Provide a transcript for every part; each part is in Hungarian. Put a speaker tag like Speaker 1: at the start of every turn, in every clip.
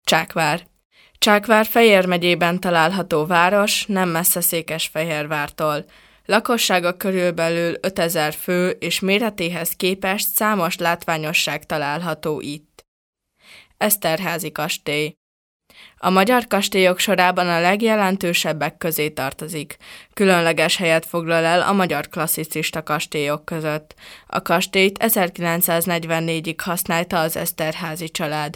Speaker 1: Csákvár. Csákvár Fejér megyében található város, nem messze Székesfehérvártól. Lakossága körülbelül 5000 fő, és méretéhez képest számos látványosság található itt. Eszterházy kastély. A magyar kastélyok sorában a legjelentősebbek közé tartozik. Különleges helyet foglal el a magyar klasszicista kastélyok között. A kastélyt 1944-ig használta az Eszterházy család.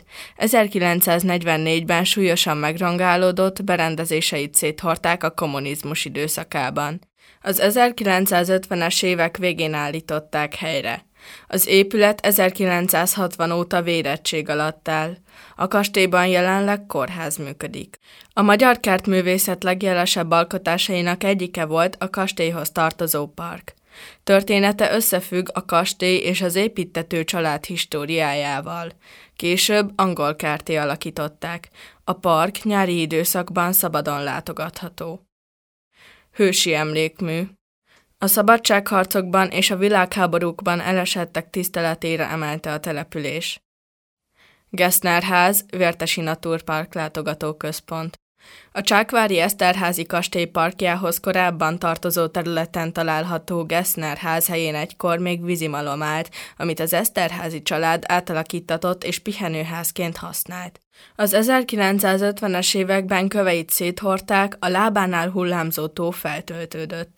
Speaker 1: 1944-ben súlyosan megrongálódott, berendezéseit széthordták a kommunizmus időszakában. Az 1950-es évek végén állították helyre. Az épület 1960 óta vérettség alatt áll. A kastélyban jelenleg kórház működik. A magyar kertművészet legjelesebb alkotásainak egyike volt a kastélyhoz tartozó park. Története összefügg a kastély és az építtető család históriájával. Később angol kertté alakították. A park nyári időszakban szabadon látogatható. Hősi emlékmű. A szabadságharcokban és a világháborúkban elesettek tiszteletére emelte a település. Gessner-ház, Vértesi Naturpark látogatóközpont. A csákvári Eszterházy kastély parkjához korábban tartozó területen található Gessner-ház helyén egykor még vízimalom állt, amit az Eszterházy család átalakíttatott és pihenőházként használt. Az 1950-es években köveit széthordták, a lábánál hullámzó tó feltöltődött.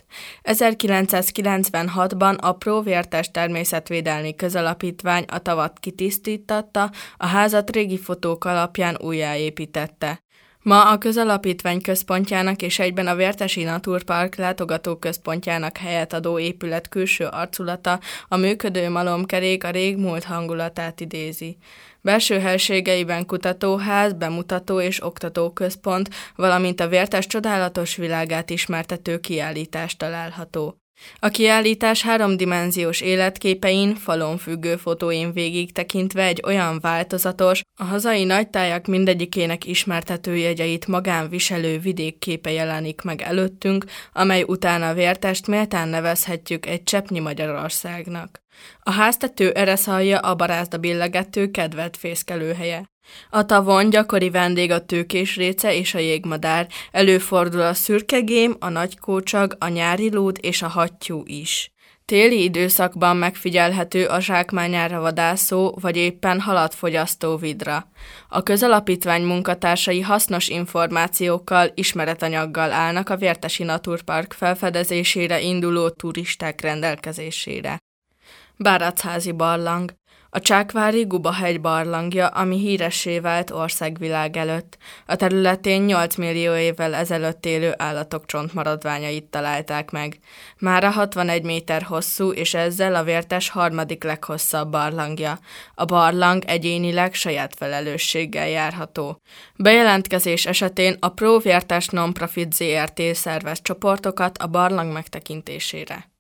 Speaker 1: 1996-ban a Pro Vértes Természetvédelmi Közalapítvány a tavat kitisztítatta, a házat régi fotók alapján újjáépítette. Ma a közalapítvány központjának és egyben a Vértesi Naturpark látogatóközpontjának helyet adó épület külső arculata, a működő malomkerék a régmúlt hangulatát idézi. Belső helységeiben kutatóház, bemutató és oktatóközpont, valamint a Vértes csodálatos világát ismertető kiállítás található. A kiállítás háromdimenziós életképein, falon függő fotóin végig tekintve egy olyan változatos, a hazai nagytájak mindegyikének ismertető jegyeit magán viselő vidékképe jelenik meg előttünk, amely után a Vértest méltán nevezhetjük egy cseppnyi Magyarországnak. A háztető ereszalja a barázda billegető kedvelt fészkelőhelye. A tavon gyakori vendég a tőkésréce és a jégmadár, előfordul a szürkegém, a nagykócsag, a nyári lúd és a hattyú is. Téli időszakban megfigyelhető a zsákmányára vadászó vagy éppen halat fogyasztó vidra. A közalapítvány munkatársai hasznos információkkal, ismeretanyaggal állnak a Vértesi Naturpark felfedezésére induló turisták rendelkezésére. Bárachházi barlang. A csákvári Gubahegy barlangja, ami híressé vált országvilág előtt. A területén 8 millió évvel ezelőtt élő állatok csontmaradványait találták meg. Mára 61 méter hosszú, és ezzel a Vértes harmadik leghosszabb barlangja. A barlang egyénileg saját felelősséggel járható. Bejelentkezés esetén a Pro Vértes Nonprofit Zrt. Szervez csoportokat a barlang megtekintésére.